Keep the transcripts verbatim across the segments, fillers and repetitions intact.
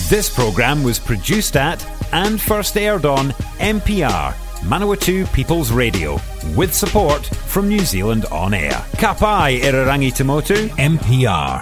This programme was produced at and first aired on M P R, Manawatu People's Radio, with support from New Zealand On Air. Ka pai Irarangi Tamotu, M P R.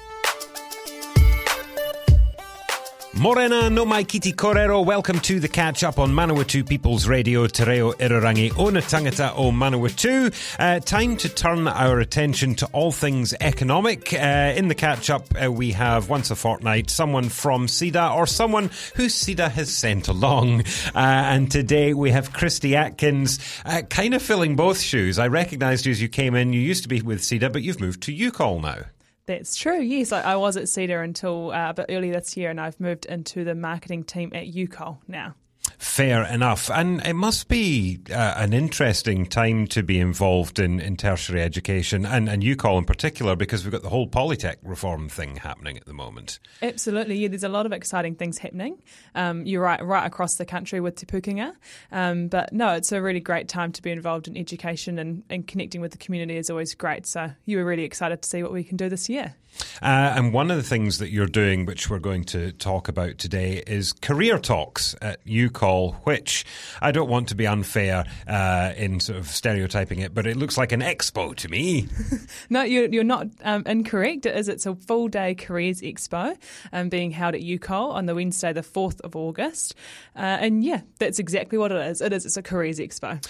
Morena no mai kiti korero. Welcome to the catch up on Manawatu People's Radio, Te Reo Irarangi Ona Tangata o Manawatu. Uh, time to turn our attention to all things economic. Uh, in the catch up, uh, we have once a fortnight someone from SEDA or someone who SEDA has sent along. Uh, and today we have Christy Atkins, uh, kind of filling both shoes. I recognised you as you came in. You used to be with SEDA, but you've moved to U Col now. That's true, yes. I, I was at SEDA until uh, a bit early this year, and I've moved into the marketing team at U Col now. Fair enough. And it must be uh, an interesting time to be involved in, in tertiary education, and, and U Col in particular, because we've got the whole Polytech reform thing happening at the moment. Absolutely, yeah. There's a lot of exciting things happening. Um, you're right, right across the country with Te Pukenga. Um, but no, it's a really great time to be involved in education, and, and connecting with the community is always great. So you were really excited to see what we can do this year. Uh, and one of the things that you're doing, which we're going to talk about today, is career talks at U Col, which I don't want to be unfair uh, in sort of stereotyping it, but it looks like an expo to me. No, you're, you're not um, incorrect. It is. It's a full-day careers expo um, being held at U Col on the Wednesday, the fourth of August. Uh, and yeah, that's exactly what it is. It is. It's a careers expo.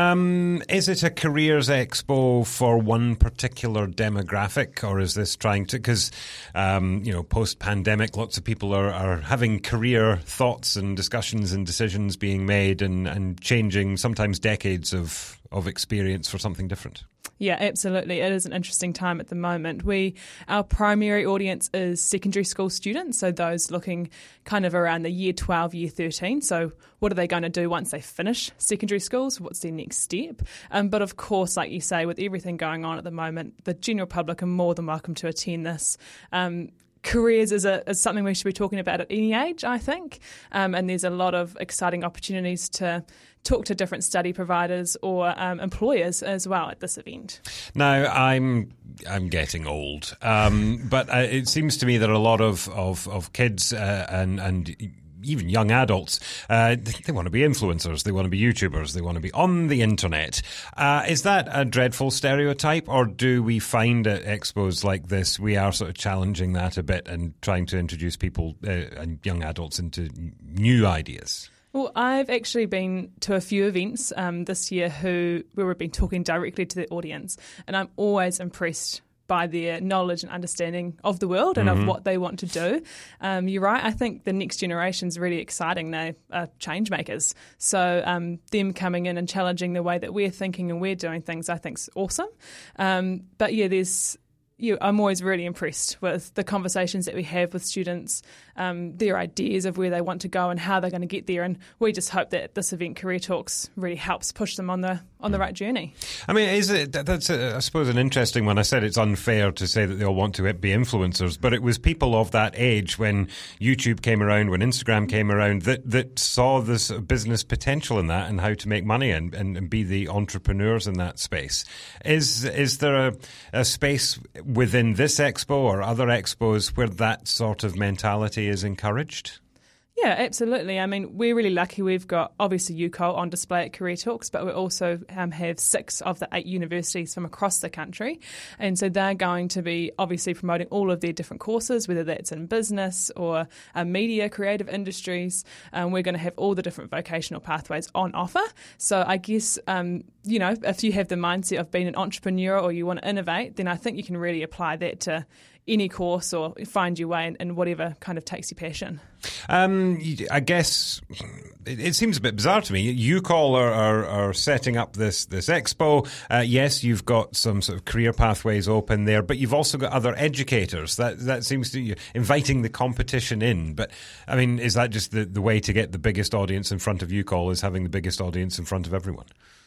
Um, is it a careers expo for one particular demographic, or is this trying to... Because, um, you know, post-pandemic, lots of people are, are having career thoughts and discussions and decisions being made and, and changing sometimes decades of, of experience for something different. Yeah, absolutely. It is an interesting time at the moment. We, our primary audience is secondary school students, so those looking kind of around the year twelve, year thirteen. So what are they going to do once they finish secondary schools? What's their next step? Um, but of course, like you say, with everything going on at the moment, the general public are more than welcome to attend this. Um, Careers is, a, is something we should be talking about at any age, I think, um, and there's a lot of exciting opportunities to talk to different study providers or um, employers as well at this event. Now, I'm I'm getting old, um, but uh, it seems to me that a lot of of, of kids uh, and and even young adults, uh, they want to be influencers, they want to be YouTubers, they want to be on the internet. Uh, is that a dreadful stereotype, or do we find at expos like this we are sort of challenging that a bit and trying to introduce people uh, and young adults into new ideas? Well, I've actually been to a few events um, this year who where we've been talking directly to the audience, and I'm always impressed by their knowledge and understanding of the world and mm-hmm. of what they want to do. Um, you're right, I think the next generation is really exciting. They are change makers. So um, them coming in and challenging the way that we're thinking and we're doing things, I think is awesome. Um, but yeah, there's You, I'm always really impressed with the conversations that we have with students, um, their ideas of where they want to go and how they're going to get there. And we just hope that this event, Career Talks, really helps push them on the on the right journey. I mean, is it that's a, I suppose an interesting one. I said it's unfair to say that they all want to be influencers, but it was people of that age when YouTube came around, when Instagram came around, that that saw this business potential in that and how to make money and, and, and be the entrepreneurs in that space. Is is there a, a space within this expo or other expos where that sort of mentality is encouraged? Yeah, absolutely. I mean, we're really lucky. We've got, obviously, U Col on display at Career Talks, but we also um, have six of the eight universities from across the country. And so they're going to be, obviously, promoting all of their different courses, whether that's in business or uh, media, creative industries. Um, we're going to have all the different vocational pathways on offer. So I guess, um, you know, if you have the mindset of being an entrepreneur or you want to innovate, then I think you can really apply that to any course or find your way in, in whatever kind of takes your passion. Um, I guess it, it seems a bit bizarre to me. U Col are, are, are setting up this this expo. Uh, yes, you've got some sort of career pathways open there, but you've also got other educators. That that seems to be inviting the competition in. But I mean, is that just the, the way to get the biggest audience in front of U Col, is having the biggest audience in front of everyone?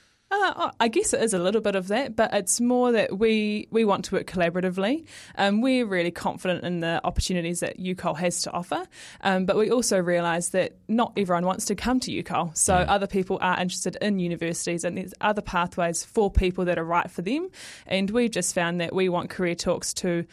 Uh, I guess it is a little bit of that, but it's more that we, we want to work collaboratively. Um, we're really confident in the opportunities that U Col has to offer, um, but we also realise that not everyone wants to come to U Col. So mm. other people are interested in universities, and there's other pathways for people that are right for them. And we've just found that we want Career Talks to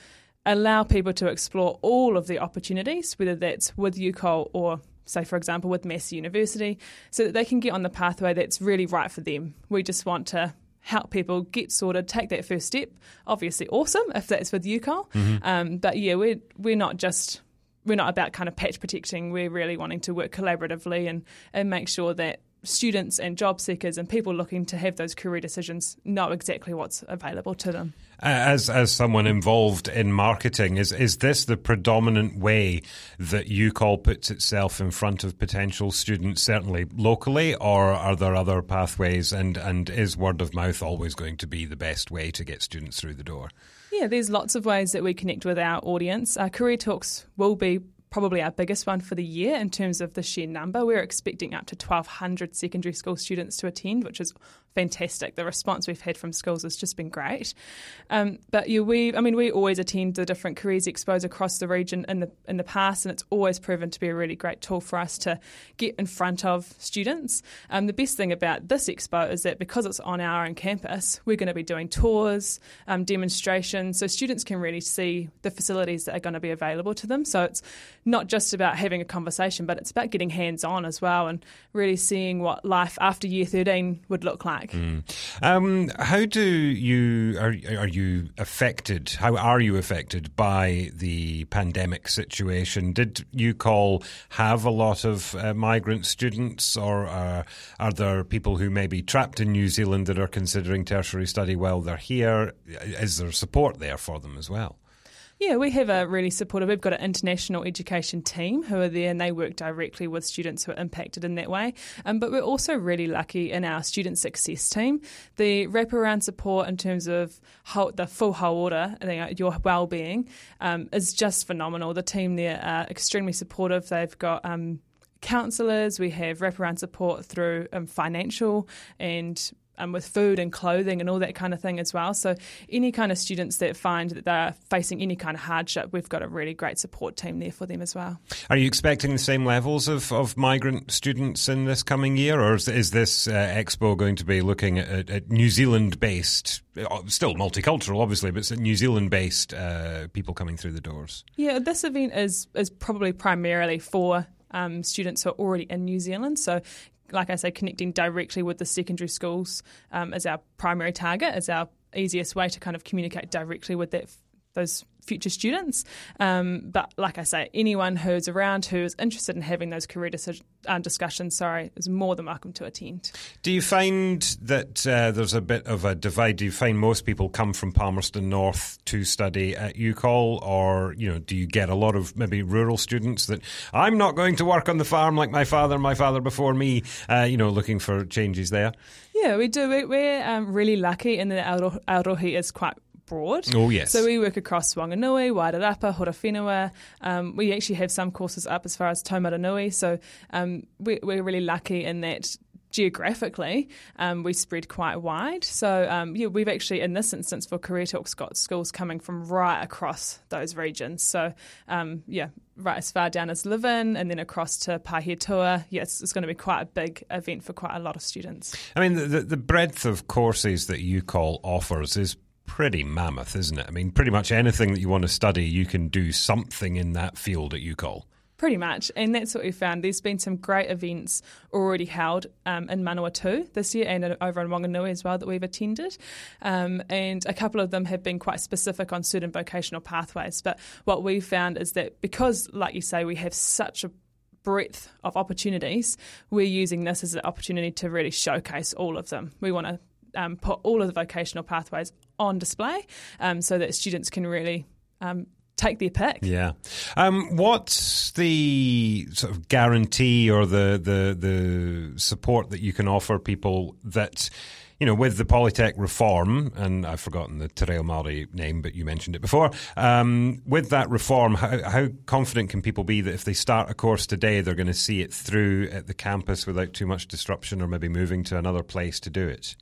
allow people to explore all of the opportunities, whether that's with U C O L or, say, for example, with Massey University, so that they can get on the pathway that's really right for them. We just want to help people get sorted, take that first step. Obviously awesome if that's with U C O L. Mm-hmm. Um, but yeah, we're, we're not just, we're not about kind of patch protecting. We're really wanting to work collaboratively and, and make sure that students and job seekers and people looking to have those career decisions know exactly what's available to them. As as someone involved in marketing, is is this the predominant way that U C O L puts itself in front of potential students, certainly locally, or are there other pathways, and, and is word of mouth always going to be the best way to get students through the door? Yeah, there's lots of ways that we connect with our audience. Our Career Talks will be probably our biggest one for the year in terms of the sheer number. We're expecting up to twelve hundred secondary school students to attend, which is fantastic. The response we've had from schools has just been great. Um, but yeah, we, I mean, we always attend the different careers expos across the region in the in the past, and it's always proven to be a really great tool for us to get in front of students. Um, the best thing about this expo is that because it's on our own campus, we're going to be doing tours, um, demonstrations, so students can really see the facilities that are going to be available to them. So it's not just about having a conversation, but it's about getting hands-on as well and really seeing what life after year thirteen would look like. Mm. Um, how do you are are you affected? How are you affected by the pandemic situation? Did U C O L have a lot of uh, migrant students, or uh, are there people who may be trapped in New Zealand that are considering tertiary study while they're here? Is there support there for them as well? Yeah, we have a really supportive, we've got an international education team who are there and they work directly with students who are impacted in that way. Um, but we're also really lucky in our student success team. The wraparound support in terms of whole, the full whole order, you know, your well-being, um, is just phenomenal. The team there are extremely supportive. They've got um, counsellors, we have wraparound support through um, financial and Um, with food and clothing and all that kind of thing as well. So any kind of students that find that they're facing any kind of hardship, we've got a really great support team there for them as well. Are you expecting the same levels of, of migrant students in this coming year, or is, is this uh, expo going to be looking at, at New Zealand-based, still multicultural obviously, but New Zealand-based uh, people coming through the doors? Yeah, this event is, is probably primarily for um, students who are already in New Zealand. So like I say, connecting directly with the secondary schools um, is our primary target, is our easiest way to kind of communicate directly with that those future students. Um, but like I say, anyone who's around who is interested in having those career decision, uh, discussions, sorry, is more than welcome to attend. Do you find that uh, there's a bit of a divide? Do you find most people come from Palmerston North to study at U C O L, or you know, do you get a lot of maybe rural students that I'm not going to work on the farm like my father and my father before me, uh, you know, looking for changes there? Yeah, we do. We're um, really lucky in that our Aotearoa is quite broad. Oh, yes. So we work across Wanganui, Wairarapa, Horowhenua. Um, we actually have some courses up as far as Taumaranui. So um, we, we're really lucky in that geographically um, we spread quite wide. So um, yeah, we've actually, in this instance for Career Talks, got schools coming from right across those regions. So um, yeah, right as far down as Levin and then across to Pahiatua. Yes, it's going to be quite a big event for quite a lot of students. I mean, the, the breadth of courses that U C O L offers is pretty mammoth, isn't it? I mean, pretty much anything that you want to study, you can do something in that field at U C O L. Pretty much, and that's what we found. There's been some great events already held um, in Manawatu this year and over in Wanganui as well that we've attended, um, and a couple of them have been quite specific on certain vocational pathways. But what we found is that because, like you say, we have such a breadth of opportunities, we're using this as an opportunity to really showcase all of them. We want to um, put all of the vocational pathways on display um, so that students can really um, take their pick. Yeah. Um, what's the sort of guarantee or the, the the support that you can offer people that, you know, with the Polytech reform, and I've forgotten the Te Reo Māori name, but you mentioned it before, um, with that reform, how, how confident can people be that if they start a course today, they're going to see it through at the campus without too much disruption or maybe moving to another place to do it?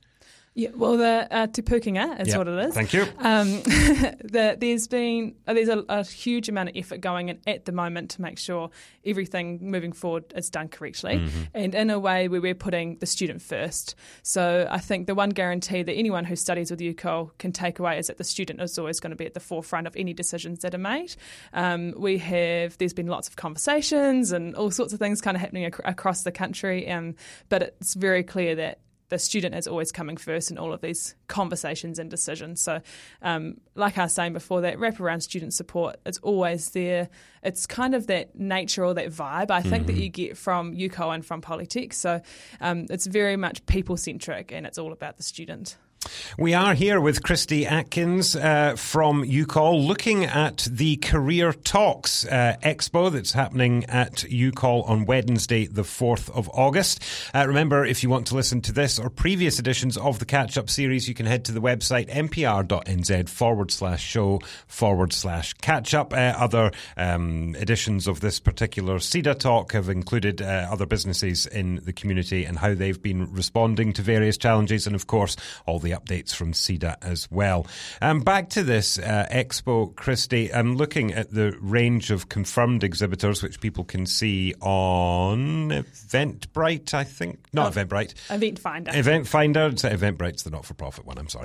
Yeah, well, the uh, Te Pukenga is yep. what it is. Thank you. Um, the, there's been uh, there's a, a huge amount of effort going in at the moment to make sure everything moving forward is done correctly, mm-hmm. and in a way where we're putting the student first. So I think the one guarantee that anyone who studies with U C O L can take away is that the student is always going to be at the forefront of any decisions that are made. Um, we have there's been lots of conversations and all sorts of things kind of happening ac- across the country, um, but it's very clear that the student is always coming first in all of these conversations and decisions. So um, like I was saying before, that wraparound student support is always there. It's kind of that nature or that vibe, I think, mm-hmm. that you get from U C O L and from Polytech. So um, it's very much people-centric and it's all about the student. We are here with Christy Atkins uh, from U C O L looking at the Career Talks uh, Expo that's happening at U C O L on Wednesday the fourth of August. Uh, remember, if you want to listen to this or previous editions of the Catch-Up series, you can head to the website npr.nz forward slash show forward slash catch-up. Uh, other um, editions of this particular SEDA talk have included uh, other businesses in the community and how they've been responding to various challenges, and of course all the updates from SEDA as well. Um, back to this uh, expo, Christy. I'm looking at the range of confirmed exhibitors, which people can see on Eventbrite, I think. Not oh, Eventbrite. Event Finder. Event Finder. Eventbrite's the not-for-profit one, I'm sorry.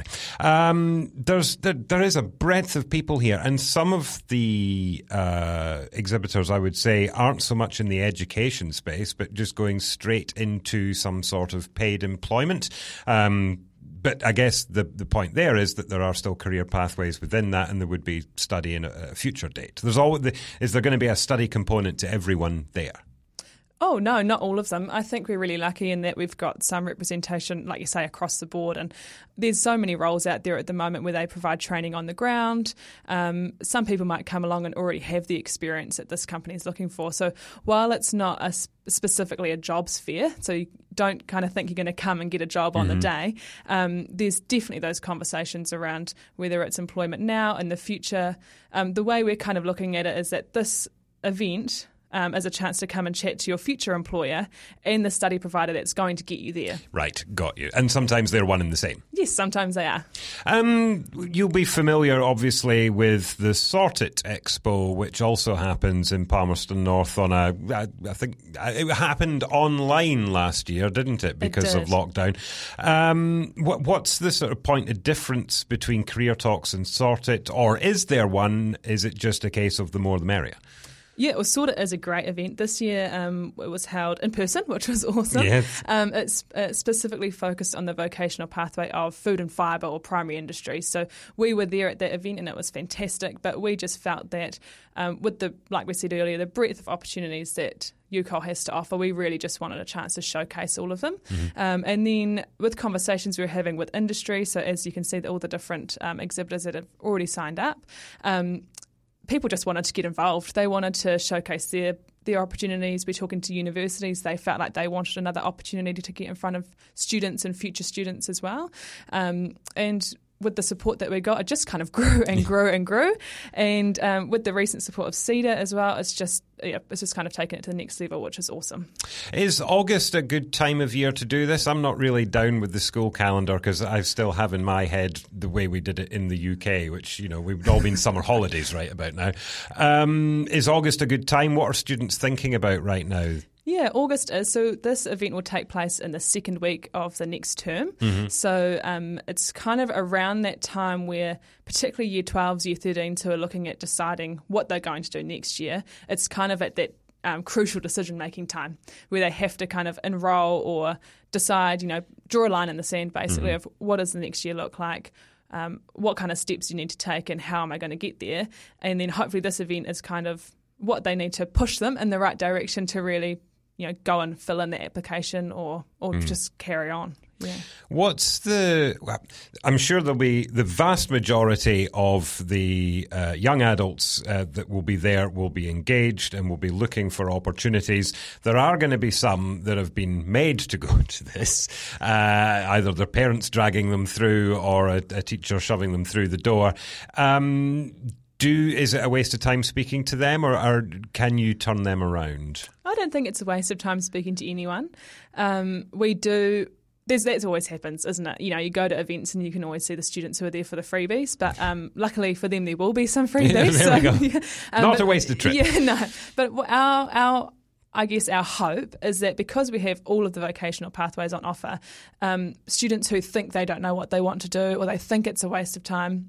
Um, there's there, there is a breadth of people here, and some of the uh, exhibitors, I would say, aren't so much in the education space, but just going straight into some sort of paid employment. Um But I guess the the point there is that there are still career pathways within that, and there would be study in a, a future date. There's always the, is there going to be a study component to everyone there? Oh, no, not all of them. I think we're really lucky in that we've got some representation, like you say, across the board. And there's so many roles out there at the moment where they provide training on the ground. Um, some people might come along and already have the experience that this company is looking for. So while it's not a sp- specifically a jobs fair, so you don't kind of think you're going to come and get a job on mm-hmm. the day, um, there's definitely those conversations around whether it's employment now and the future. Um, the way we're kind of looking at it is that this event Um, as a chance to come and chat to your future employer and the study provider that's going to get you there. Right, got you. And sometimes they're one and the same. Yes, sometimes they are. Um, you'll be familiar, obviously, with the Sortit Expo, which also happens in Palmerston North on a, I, I think, it happened online last year, didn't it, because it of lockdown. Um, what, what's the sort of point of difference between Career Talks and Sortit, or is there one? Is it just a case of the more the merrier? Yeah, it was sort of as a great event. This year um, it was held in person, which was awesome. Yes. Um, it's uh, specifically focused on the vocational pathway of food and fibre or primary industry. So we were there at that event and it was fantastic, but we just felt that um, with the, like we said earlier, the breadth of opportunities that U C O L has to offer, we really just wanted a chance to showcase all of them. Mm-hmm. Um, and then with conversations we were having with industry, so as you can see, all the different um, exhibitors that have already signed up, um, people just wanted to get involved. They wanted to showcase their their opportunities. We're talking to universities. They felt like they wanted another opportunity to get in front of students and future students as well. Um, and with the support that we got, it just kind of grew and grew and grew. And um, with the recent support of SEDA as well, it's just yeah, it's just kind of taken it to the next level, which is awesome. Is August a good time of year to do this? I'm not really down with the school calendar because I still have in my head the way we did it in the U K, which, you know, we've all been summer holidays right about now. Um, is August a good time? What are students thinking about right now? Yeah, August is. So this event will take place in the second week of the next term. Mm-hmm. So um, it's kind of around that time where particularly year twelves, year thirteens who are looking at deciding what they're going to do next year. It's kind of at that um, crucial decision-making time where they have to kind of enroll or decide, you know, draw a line in the sand basically mm-hmm. of what does the next year look like. Um, what kind of steps do you need to take and how am I going to get there? And then hopefully this event is kind of what they need to push them in the right direction to really, you know, go and fill in the application or or mm. just carry on. Yeah. What's the... Well, I'm sure there'll be the vast majority of the uh, young adults uh, that will be there will be engaged and will be looking for opportunities. There are going to be some that have been made to go to this, uh, either their parents dragging them through or a, a teacher shoving them through the door. Um, do is it a waste of time speaking to them, or, or can you turn them around? I don't think it's a waste of time speaking to anyone. Um, we do... There's, that always happens, isn't it? You know, you go to events and you can always see the students who are there for the freebies, but um, luckily for them, there will be some freebies. Yeah, there so, we go. Yeah, um, Not but, a wasted trip. Yeah, no. But our our I guess our hope is that because we have all of the vocational pathways on offer, um, students who think they don't know what they want to do or they think it's a waste of time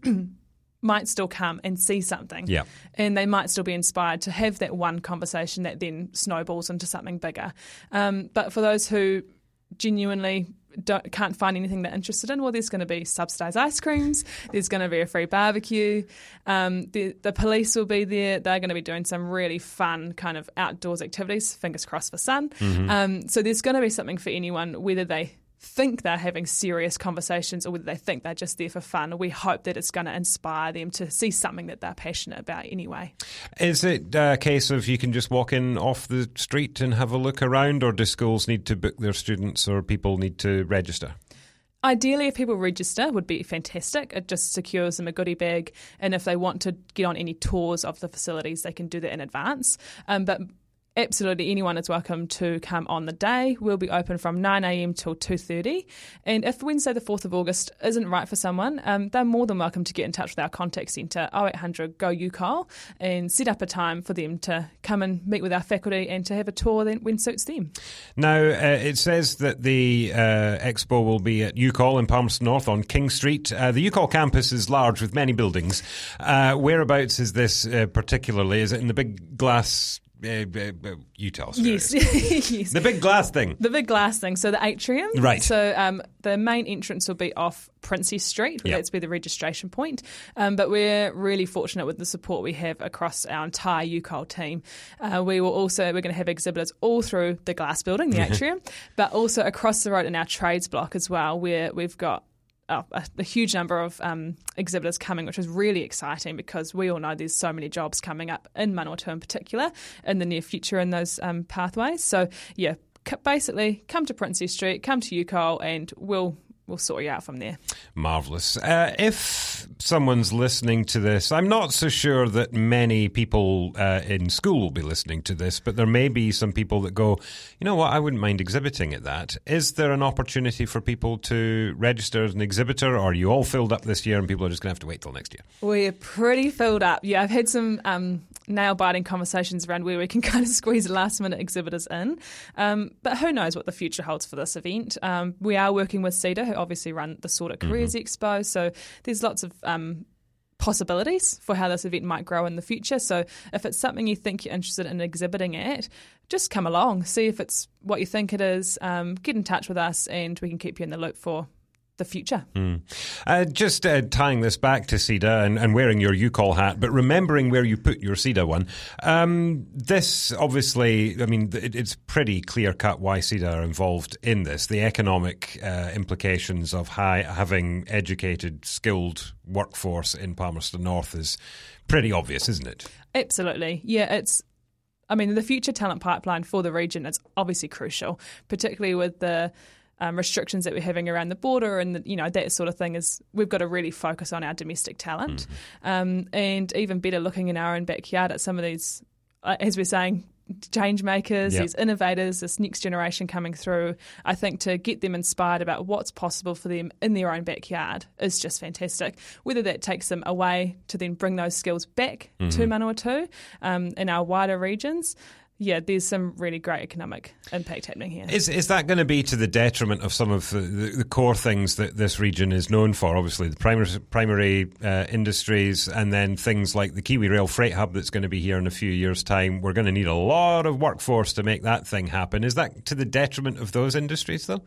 might still come and see something. Yeah. And they might still be inspired to have that one conversation that then snowballs into something bigger. Um, but for those who genuinely don't, can't find anything they're interested in, well, there's going to be subsidised ice creams, there's going to be a free barbecue, um, the, the police will be there, they're going to be doing some really fun kind of outdoors activities, fingers crossed for sun. Mm-hmm. Um, so there's going to be something for anyone, whether they think they're having serious conversations or whether they think they're just there for fun. We hope that it's going to inspire them to see something that they're passionate about anyway. Is it a case of you can just walk in off the street and have a look around, or do schools need to book their students or people need to register? Ideally, if people register, would be fantastic. It just secures them a goodie bag, and if they want to get on any tours of the facilities, they can do that in advance. Um, but absolutely anyone is welcome to come on the day. We'll be open from nine a.m. till two thirty. And if Wednesday the fourth of August isn't right for someone, um, they're more than welcome to get in touch with our contact centre, oh eight hundred go U C O L, and set up a time for them to come and meet with our faculty and to have a tour then when suits them. Now, uh, it says that the uh, expo will be at U C O L in Palmerston North on King Street. Uh, the U C O L campus is large with many buildings. Uh, whereabouts is this uh, particularly? Is it in the big glass... Uh, uh, uh, you tell us. Yes. Yes. The big glass thing. The big glass thing. So the atrium. Right. So um, the main entrance will be off Princess Street. Yep. That's where the registration point. Um, but we're really fortunate with the support we have across our entire U C O L team. Uh, we will also we're going to have exhibitors all through the glass building, the atrium, but also across the road in our trades block as well, where we've got Oh, a, a huge number of um, exhibitors coming, which is really exciting because we all know there's so many jobs coming up in Manawatu in particular in the near future in those um, pathways. So, yeah, c- basically come to Princess Street, come to U C O L, and we'll we'll sort you out from there. Marvellous. Uh, if someone's listening to this, I'm not so sure that many people uh, in school will be listening to this, but there may be some people that go, you know what, I wouldn't mind exhibiting at that. Is there an opportunity for people to register as an exhibitor, or are you all filled up this year and people are just going to have to wait till next year? We're pretty filled up. Yeah, I've had some um, nail-biting conversations around where we can kind of squeeze last-minute exhibitors in. Um, but who knows what the future holds for this event. Um, we are working with CEDA, who obviously run the Sort of Careers mm-hmm. Expo, so there's lots of um, possibilities for how this event might grow in the future. So if it's something you think you're interested in exhibiting at, just come along, see if it's what you think it is, um, get in touch with us and we can keep you in the loop for the future. Mm. Uh, just uh, tying this back to CEDA and, and wearing your U C O L hat, but remembering where you put your CEDA one. Um, this obviously, I mean, it, it's pretty clear cut why CEDA are involved in this. The economic uh, implications of high, having educated, skilled workforce in Palmerston North is pretty obvious, isn't it? Absolutely. Yeah, it's. I mean, the future talent pipeline for the region is obviously crucial, particularly with the Um, restrictions that we're having around the border and, the, you know, that sort of thing. Is we've got to really focus on our domestic talent mm-hmm. um, and even better looking in our own backyard at some of these, uh, as we're saying, change makers, yep. these innovators, this next generation coming through. I think to get them inspired about what's possible for them in their own backyard is just fantastic. Whether that takes them away to then bring those skills back mm-hmm. to Manawatu um, in our wider regions. Yeah, there's some really great economic impact happening here. Is is that going to be to the detriment of some of the, the, the core things that this region is known for? Obviously, the primary, primary uh, industries, and then things like the Kiwi Rail Freight Hub that's going to be here in a few years' time. We're going to need a lot of workforce to make that thing happen. Is that to the detriment of those industries, though?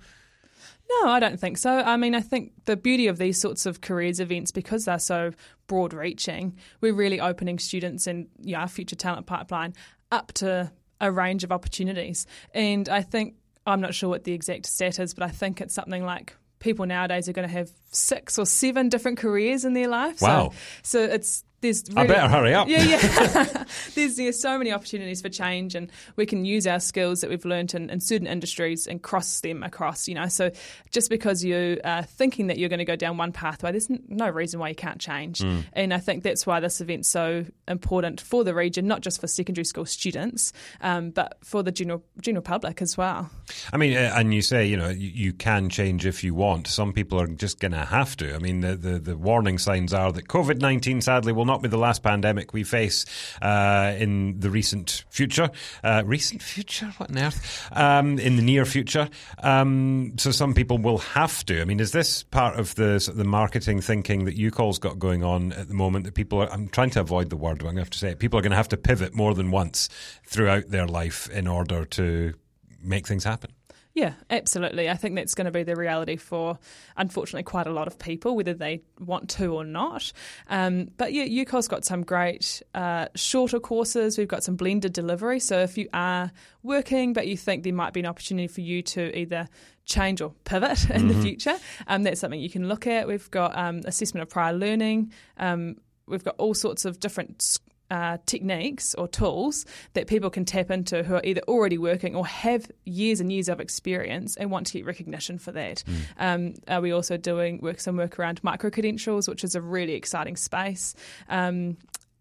No, I don't think so. I mean, I think the beauty of these sorts of careers events, because they're so broad-reaching, we're really opening students and you know, our future talent pipeline up to a range of opportunities. And I think, I'm not sure what the exact stat is, but I think it's something like people nowadays are going to have six or seven different careers in their life. Wow. So, so it's There's really, I better hurry up. Yeah, yeah. there's, there's so many opportunities for change, and we can use our skills that we've learned in, in certain industries and cross them across, you know. So just because you are thinking that you're going to go down one pathway, there's n- no reason why you can't change. Mm. And I think that's why this event's so important for the region, not just for secondary school students, um, but for the general general public as well. I mean, and you say, you know, you, you can change if you want. Some people are just going to have to. I mean, the, the, the warning signs are that COVID nineteen, sadly, will not be the last pandemic we face uh, in the recent future. Uh, recent future? What on earth? Um, in the near future. Um, so some people will have to. I mean, is this part of the sort of the marketing thinking that U Call's got going on at the moment that people are, I'm trying to avoid the word, but I'm going to have to say it, people are going to have to pivot more than once throughout their life in order to make things happen? Yeah, absolutely. I think that's going to be the reality for, unfortunately, quite a lot of people, whether they want to or not. Um, but yeah, U Call's got some great uh, shorter courses. We've got some blended delivery. So if you are working but you think there might be an opportunity for you to either change or pivot in mm-hmm. the future, um, that's something you can look at. We've got um, assessment of prior learning. Um, we've got all sorts of different Uh, techniques or tools that people can tap into who are either already working or have years and years of experience and want to get recognition for that. Mm. Um, are we also doing work some work around micro-credentials, which is a really exciting space. Um,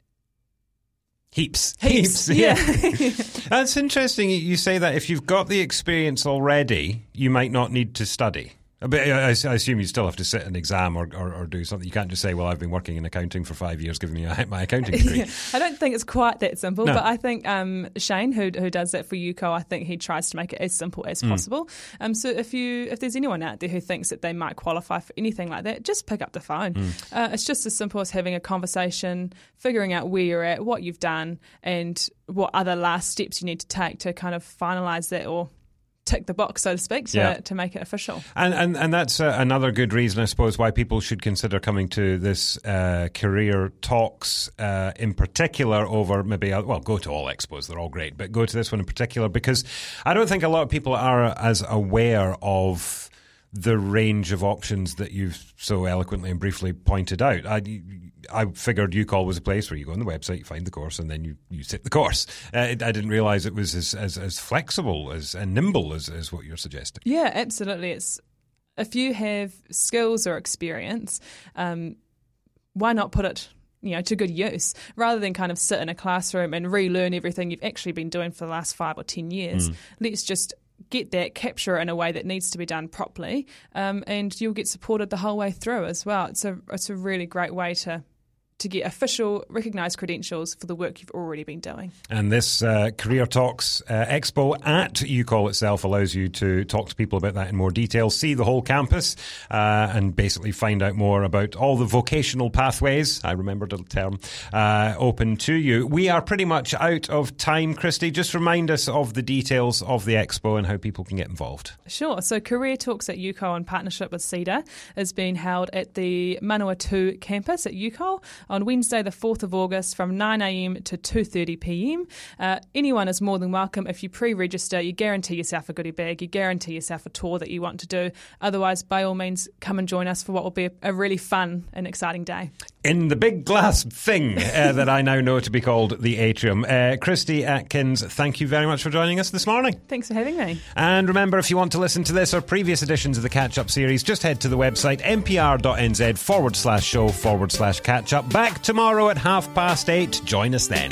Heaps. Heaps, Heaps yeah. yeah. That's interesting you say that. If you've got the experience already, you might not need to study. But I assume you still have to sit an exam or, or, or do something. You can't just say, well, I've been working in accounting for five years, giving me my accounting degree. Yeah. I don't think it's quite that simple, no. but I think um, Shane, who who does that for U C A L, I think he tries to make it as simple as mm. possible. Um, so if you if there's anyone out there who thinks that they might qualify for anything like that, just pick up the phone. Mm. Uh, it's just as simple as having a conversation, figuring out where you're at, what you've done, and what other last steps you need to take to kind of finalise that or tick the box, so to speak, to, yeah. to make it official. And and, and that's uh, another good reason, I suppose, why people should consider coming to this uh, career talks uh, in particular over maybe, well, go to all expos, they're all great, but go to this one in particular because I don't think a lot of people are as aware of the range of options that you've so eloquently and briefly pointed out. I, I figured U C A L was a place where you go on the website, you find the course, and then you, you sit the course. Uh, I didn't realise it was as, as, as flexible as and nimble as, as what you're suggesting. Yeah, absolutely. It's if you have skills or experience, um, why not put it you know, to good use, rather than kind of sit in a classroom and relearn everything you've actually been doing for the last five or ten years. Mm. Let's just get that, capture it in a way that needs to be done properly, um, and you'll get supported the whole way through as well. It's a it's a really great way to to get official, recognised credentials for the work you've already been doing. And this uh, Career Talks uh, Expo at U C A L itself allows you to talk to people about that in more detail, see the whole campus, uh, and basically find out more about all the vocational pathways, I remembered the term, uh, open to you. We are pretty much out of time, Christy. Just remind us of the details of the Expo and how people can get involved. Sure. So Career Talks at U C A L in partnership with CEDA is being held at the Manawatu campus at U C A L on Wednesday the fourth of August from nine a.m. to two thirty p.m. Uh, anyone is more than welcome. If you pre-register, you guarantee yourself a goodie bag, you guarantee yourself a tour that you want to do. Otherwise, by all means, come and join us for what will be a, a really fun and exciting day. In the big glass thing uh, that I now know to be called the Atrium. Uh, Christy Atkins, thank you very much for joining us this morning. Thanks for having me. And remember, if you want to listen to this or previous editions of the Catch-Up series, just head to the website npr.nz forward slash show forward slash catch-up. Back tomorrow at half past eight. Join us then.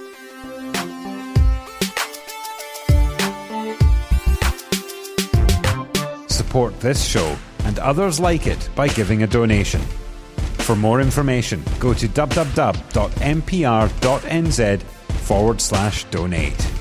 Support this show and others like it by giving a donation. For more information, go to www.npr.nz forward slash donate.